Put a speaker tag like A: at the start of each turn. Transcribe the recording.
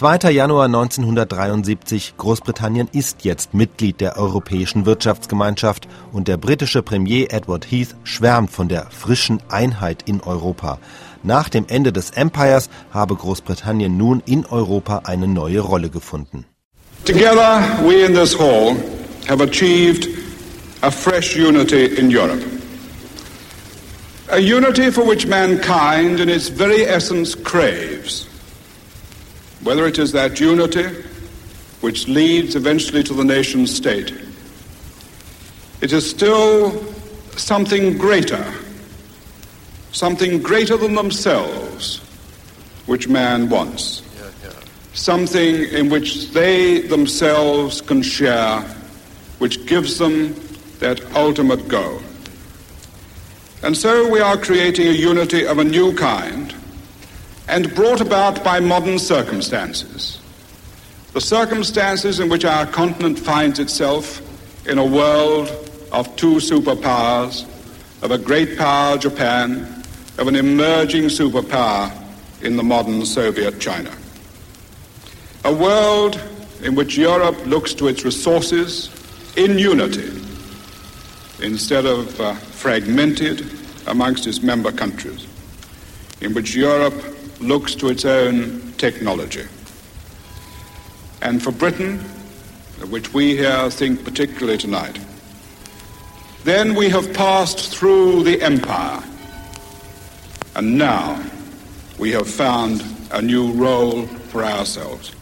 A: 2. Januar 1973, Großbritannien ist jetzt Mitglied der Europäischen Wirtschaftsgemeinschaft und der britische Premier Edward Heath schwärmt von der frischen Einheit in Europa. Nach dem Ende des Empires habe Großbritannien nun in Europa eine neue Rolle gefunden.
B: Together we in this hall have achieved a fresh unity in Europe. A unity for which mankind in its very essence craves. Whether it is that unity which leads eventually to the nation state, it is still something greater than themselves which man wants. Something in which they themselves can share, which gives them that ultimate goal. And so we are creating a unity of a new kind, and brought about by modern circumstances. The circumstances in which our continent finds itself in a world of two superpowers, of a great power, Japan, of an emerging superpower in the modern Soviet China. A world in which Europe looks to its resources in unity instead of fragmented amongst its member countries, in which Europe looks to its own technology. And for Britain, of which we here think particularly tonight, then we have passed through the empire, and now we have found a new role for ourselves.